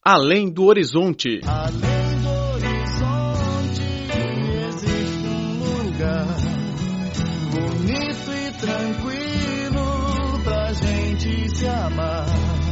Além do horizonte. Além do horizonte existe lugar bonito e tranquilo pra gente se amar.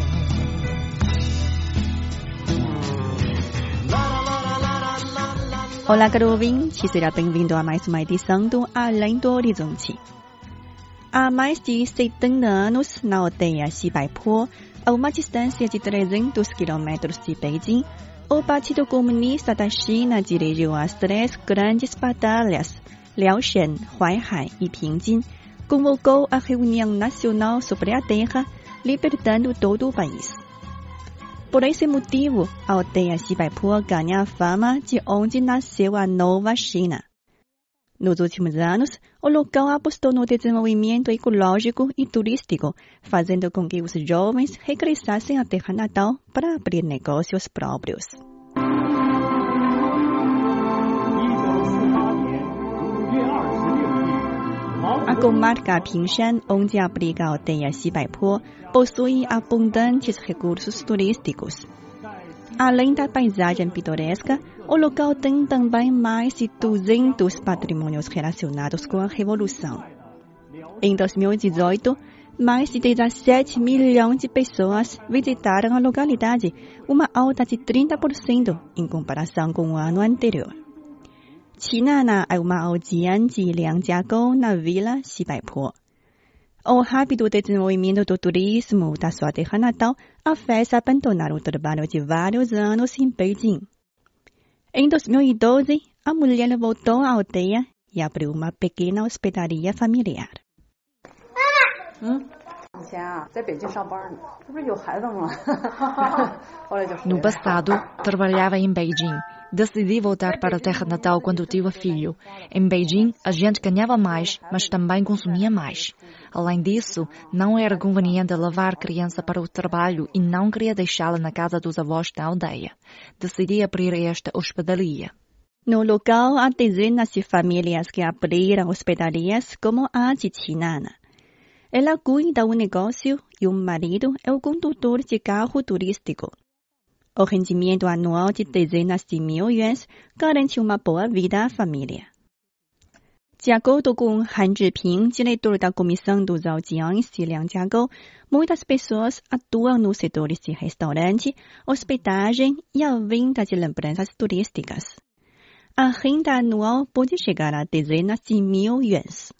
Olá, caro ouvinte, seja bem-vindo a mais uma edição do Além do Horizonte. Há mais de 70 anos, na aldeia Xibaipo, a uma distância de 300 quilômetros de Beijing, o Partido Comunista da China dirigiu as 3 grandes batalhas, Liaoshen, Huaihai e Pingjin, convocou a reunião nacional sobre a terra, libertando todo o país. Por esse motivo, a aldeia Xibaipo ganha a fama de onde nasceu a nova China. Nos últimos anos, o local apostou no desenvolvimento ecológico e turístico, fazendo com que os jovens regressassem à terra natal para abrir negócios próprios. A comarca Pingshan, onde abriga a aldeia Xibaipo, possui abundantes recursos turísticos. Além da paisagem pitoresca, o local tem também mais de 200 patrimônios relacionados com a Revolução. Em 2018, mais de 17 milhões de pessoas visitaram a localidade, uma alta de 30% em comparação com o ano anterior. Chinana é uma aldeia de Liangjiagou, na vila Xibaipo. O rápido desenvolvimento do turismo da sua terra natal a fez abandonar o trabalho de vários anos em Beijing. Em 2012, a mulher voltou à aldeia e abriu uma pequena hospedaria familiar. No passado, trabalhava em Beijing. Decidi voltar para a terra natal quando tive filho. Em Beijing, a gente ganhava mais, mas também consumia mais. Além disso, não era conveniente levar a criança para o trabalho e não queria deixá-la na casa dos avós da aldeia. Decidi abrir esta hospedaria. No local, há dezenas de famílias que abriram hospedarias como a de Chinana. Ela cuida do negócio e o marido é o condutor de carro turístico. O rendimento anual de dezenas de mil yuans garante uma boa vida à família. De acordo com Han Zhiping, diretor da Comissão dos Aldeões de Liangjiagou, muitas pessoas atuam nos setores de restaurante, hospedagem e a venda de lembranças turísticas. A renda anual pode chegar a dezenas de mil yuans.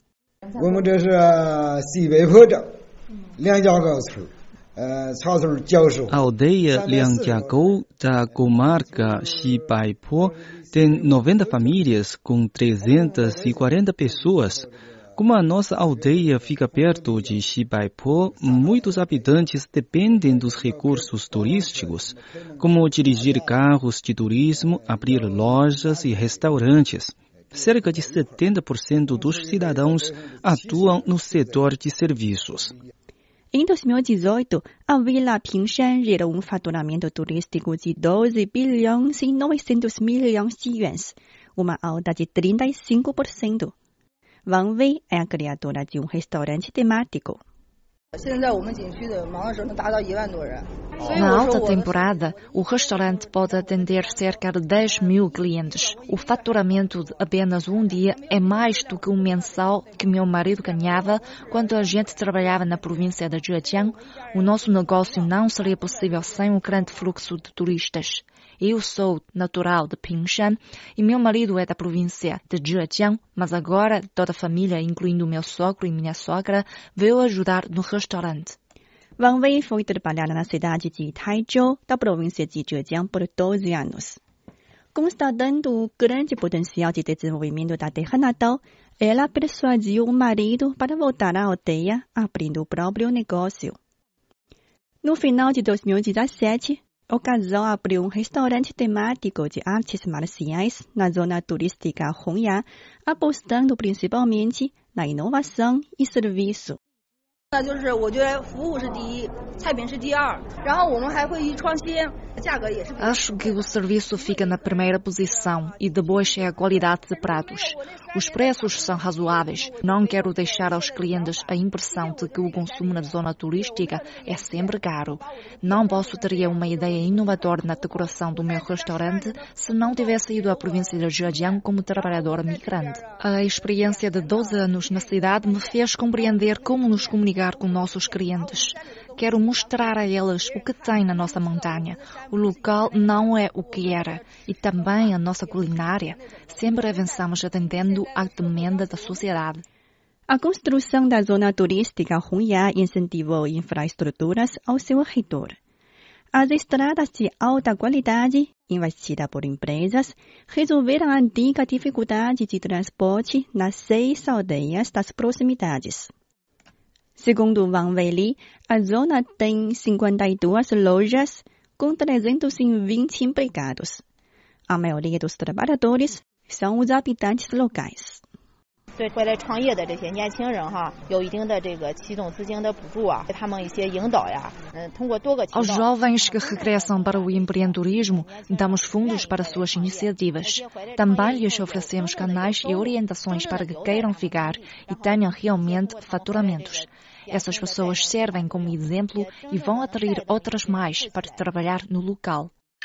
A aldeia Liangjiagou da comarca Xibaipo tem 90 famílias com 340 pessoas. Como a nossa aldeia fica perto de Xibaipo, muitos habitantes dependem dos recursos turísticos, como dirigir carros de turismo, abrir lojas e restaurantes. Cerca de 70% dos cidadãos atuam no setor de serviços. Em 2018, a Vila Pingshan gerou um faturamento turístico de 12 bilhões e 900 milhões de yuans, uma alta de 35%. Wang Wei é a criadora de um restaurante temático. Na alta temporada, o restaurante pode atender cerca de 10 mil clientes. O faturamento de apenas um dia é mais do que um mensal que meu marido ganhava quando a gente trabalhava na província de Zhejiang. O nosso negócio não seria possível sem o grande fluxo de turistas. Eu sou natural de Pingshan e meu marido é da província de Zhejiang, mas agora toda a família, incluindo meu sogro e minha sogra, veio ajudar no restaurante. Wang Wei foi trabalhar na cidade de Taizhou, da província de Zhejiang, por 12 anos. Constatando o grande potencial de desenvolvimento da terra natal, ela persuadiu o marido para voltar à aldeia, abrindo o próprio negócio. No final de 2017, o casal abriu um restaurante temático de artes marciais na zona turística Hongya, apostando principalmente na inovação e serviço. 那就是我觉得服务是第一，菜品是第二，然后我们还会去创新，价格也是。 Acho que o serviço fica na primeira posição e depois é a qualidade de pratos. Os preços são razoáveis. Não quero deixar aos clientes a impressão de que o consumo na zona turística é sempre caro. Não posso ter uma ideia inovadora na decoração do meu restaurante se não tivesse ido à província de Zhejiang como trabalhadora migrante. A experiência de 12 anos na cidade me fez compreender como nos comunicar com nossos clientes. Quero mostrar a eles o que tem na nossa montanha. O local não é o que era. E também a nossa culinária. Sempre avançamos atendendo à demanda da sociedade. A construção da zona turística Hunyá incentivou infraestruturas ao seu redor. As estradas de alta qualidade, investidas por empresas, resolveram a antiga dificuldade de transporte nas 6 aldeias das proximidades. Segundo Wang Weili, a zona tem 52 lojas com 320 empregados. A maioria dos trabalhadores são os habitantes locais. Aos jovens que regressam para o empreendedorismo, damos fundos para suas iniciativas. Também lhes oferecemos canais e orientações para que queiram ficar e tenham realmente faturamentos. Essas pessoas servem como exemplo e vão atrair outras mais para trabalhar no local.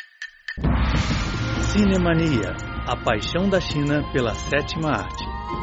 Cinemania, a paixão da China pela sétima arte.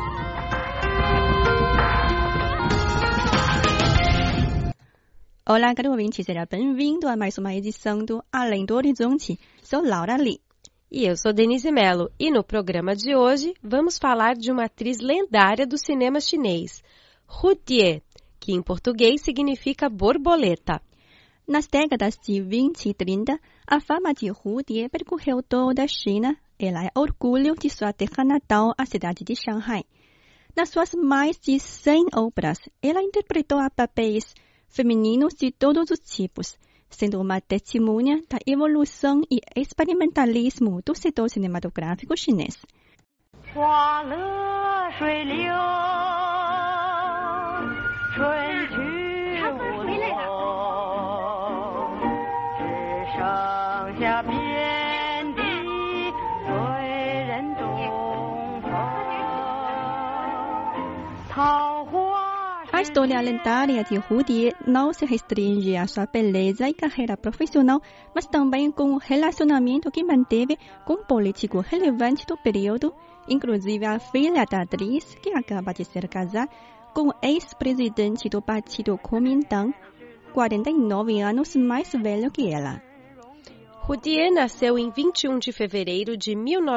Olá, caro ouvinte, seja bem-vindo a mais uma edição do Além do Horizonte. Sou Laura Lee. E eu sou Denise Mello. E no programa de hoje vamos falar de uma atriz lendária do cinema chinês, Hu Tie, que em português significa borboleta. Nas décadas de 20 e 30, a fama de Hu Tie percorreu toda a China. Ela é orgulho de sua terra natal, a cidade de Shanghai. Nas suas mais de 100 obras, ela interpretou papéis femininos de todos os tipos, sendo uma testemunha da evolução e experimentalismo do setor cinematográfico chinês. A história lendária de Hu Tie não se restringe à sua beleza e carreira profissional, mas também com o relacionamento que manteve com um político relevante do período, inclusive a filha da atriz, que acaba de ser casada com o ex-presidente do partido Kuomintang, 49 anos mais velho que ela. Hu Tie nasceu em 21 de fevereiro de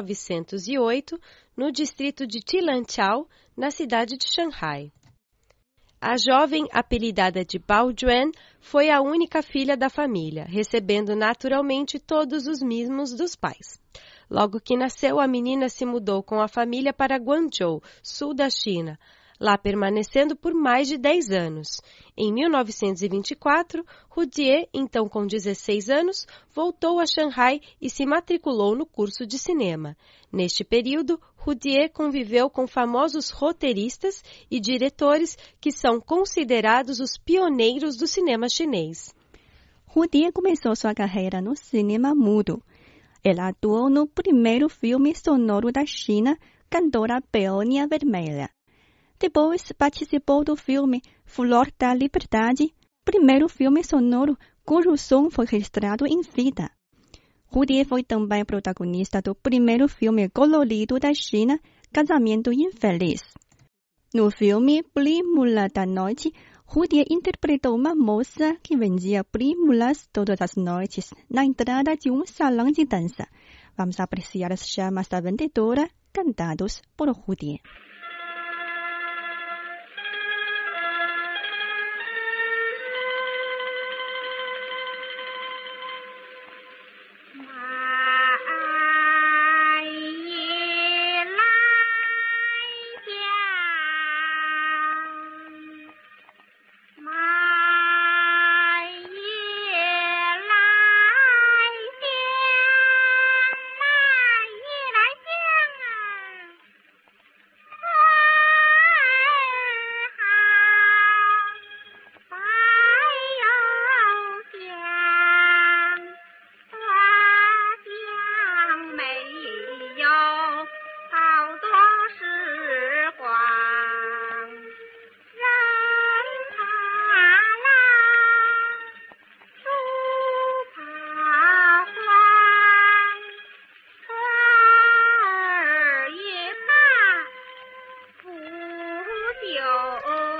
1908, no distrito de Tilanqiao, na cidade de Shanghai. A jovem, apelidada de Bao Juan, foi a única filha da família, recebendo naturalmente todos os mimos dos pais. Logo que nasceu, a menina se mudou com a família para Guangzhou, sul da China, lá permanecendo por mais de 10 anos. Em 1924, Hu Tie, então com 16 anos, voltou a Shanghai e se matriculou no curso de cinema. Neste período, Hu Tie conviveu com famosos roteiristas e diretores que são considerados os pioneiros do cinema chinês. Hu Tie começou sua carreira no cinema mudo. Ela atuou no primeiro filme sonoro da China, Cantora Peônia Vermelha. Depois participou do filme Flor da Liberdade, primeiro filme sonoro cujo som foi registrado em vida. Hu Tie foi também protagonista do primeiro filme colorido da China, Casamento Infeliz. No filme Prímula da Noite, Hu Tie interpretou uma moça que vendia prímulas todas as noites na entrada de um salão de dança. Vamos apreciar as chamas da vendedora, cantados por Hu Tie.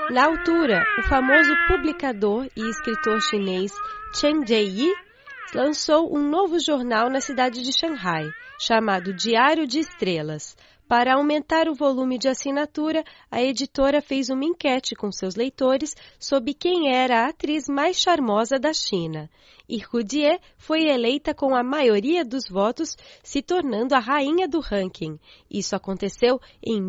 Na altura, o famoso publicador e escritor chinês Chen Jieyi lançou um novo jornal na cidade de Xangai, chamado Diário de Estrelas. Para aumentar o volume de assinatura, a editora fez uma enquete com seus leitores sobre quem era a atriz mais charmosa da China. E Hu Jie foi eleita com a maioria dos votos, se tornando a rainha do ranking. Isso aconteceu em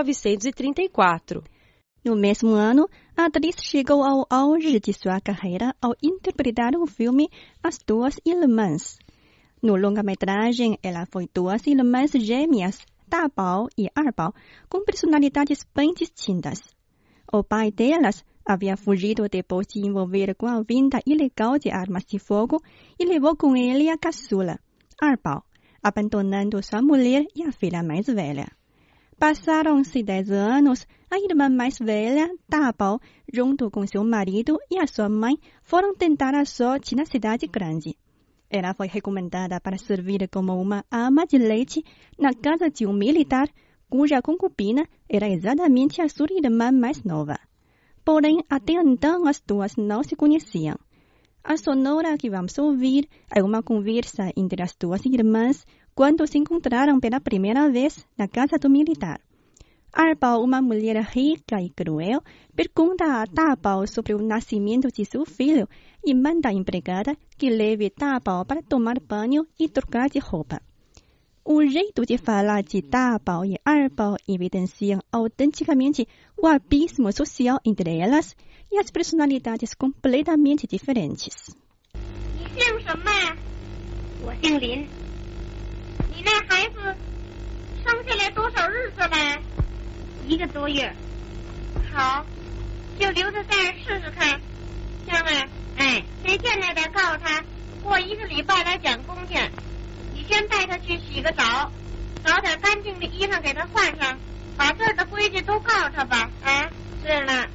1934. No mesmo ano, a atriz chegou ao auge de sua carreira ao interpretar o filme As Duas Irmãs. No longa-metragem, ela foi duas irmãs gêmeas, Da Bao e Er Bao, com personalidades bem distintas. O pai delas havia fugido depois de envolver com a venda ilegal de armas de fogo e levou com ele a caçula, Er Bao, abandonando sua mulher e a filha mais velha. Passaram-se 10 anos, a irmã mais velha, Da Bao, junto com seu marido e a sua mãe, foram tentar a sorte na cidade grande. Ela foi recomendada para servir como uma ama de leite na casa de um militar, cuja concubina era exatamente a sua irmã mais nova. Porém, até então as duas não se conheciam. A sonora que vamos ouvir é uma conversa entre as duas irmãs quando se encontraram pela primeira vez na casa do militar. Er Bao, uma mulher rica e cruel, pergunta a Da Bao sobre o nascimento de seu filho e manda a empregada que leve Da Bao para tomar banho e trocar de roupa. O jeito de falar de Da Bao e Er Bao evidenciam autenticamente o abismo social entre elas e as personalidades completamente diferentes. 你姓什么呀？我姓林。你那孩子生下来多少日子了？1个多月。好，就留在这儿试试看，行吗？谁见来的告诉他，过1个礼拜来讲工去。你先带他去洗个澡，找点干净的衣裳给他换上，把这儿的规矩都告诉他吧。是了。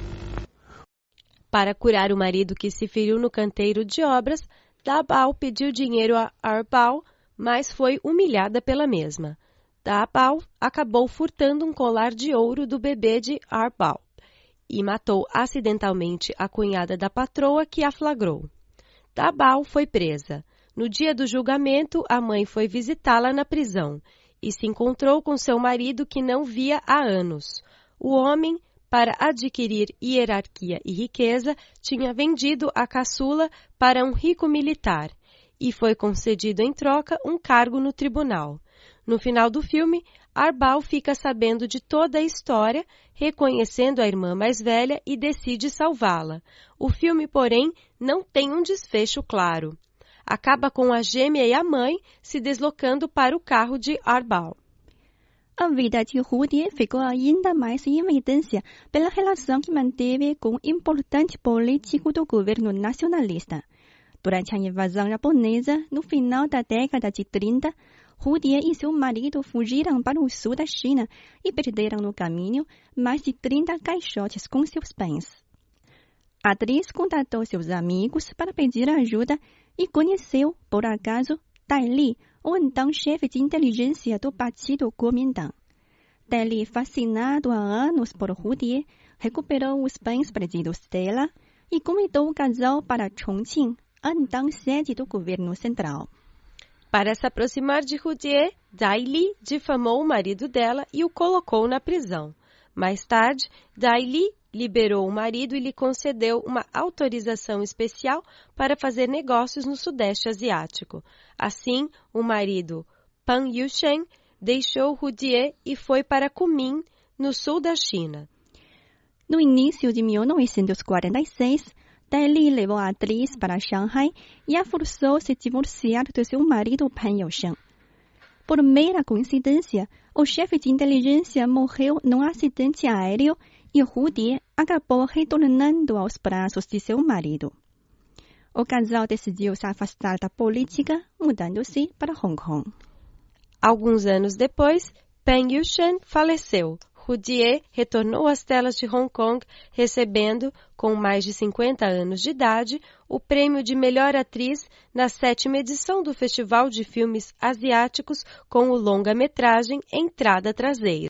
Para curar o marido que se feriu no canteiro de obras, Da Bao pediu dinheiro a Er Bao, mas foi humilhada pela mesma. Da Bao acabou furtando um colar de ouro do bebê de Er Bao e matou acidentalmente a cunhada da patroa que a flagrou. Da Bao foi presa. No dia do julgamento, a mãe foi visitá-la na prisão e se encontrou com seu marido que não via há anos. O homem, para adquirir hierarquia e riqueza, tinha vendido a caçula para um rico militar e foi concedido em troca um cargo no tribunal. No final do filme, Er Bao fica sabendo de toda a história, reconhecendo a irmã mais velha e decide salvá-la. O filme, porém, não tem um desfecho claro. Acaba com a gêmea e a mãe se deslocando para o carro de Er Bao. A vida de Hu Jie ficou ainda mais em evidência pela relação que manteve com um importante político do governo nacionalista. Durante a invasão japonesa, no final da década de 30, Hu Jie e seu marido fugiram para o sul da China e perderam no caminho mais de 30 caixotes com seus bens. A atriz contatou seus amigos para pedir ajuda e conheceu, por acaso, Dai Li, o então chefe de inteligência do Partido Kuomintang. Dai Li, fascinado há anos por Hu Jie, recuperou os bens perdidos dela e convidou o casal para Chongqing, a então sede do governo central. Para se aproximar de Hu Jie, Dai Li difamou o marido dela e o colocou na prisão. Mais tarde, Dai Li liberou o marido e lhe concedeu uma autorização especial para fazer negócios no Sudeste Asiático. Assim, o marido, Pan Yusheng, deixou Hu Jie e foi para Kunming, no sul da China. No início de 1946, Dai Li levou a atriz para Xangai e a forçou a se divorciar do seu marido Pan Yusheng. Por mera coincidência, o chefe de inteligência morreu num acidente aéreo e Hu Jie acabou retornando aos braços de seu marido. O casal decidiu se afastar da política, mudando-se para Hong Kong. Alguns anos depois, Pan Yusheng faleceu. Hu Jie retornou às telas de Hong Kong, recebendo, com mais de 50 anos de idade, o prêmio de melhor atriz na 7ª edição do Festival de Filmes Asiáticos com o longa-metragem Entrada Traseira.